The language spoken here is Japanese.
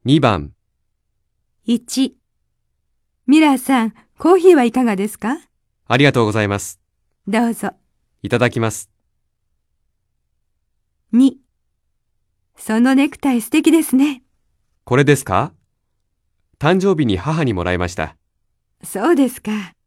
2番、 1、ミラーさん、コーヒーはいかがですか？ ありがとうございます。 どうぞ。 いただきます。 2、そのネクタイ素敵ですね。 これですか？誕生日に母にもらいました。 そうですか。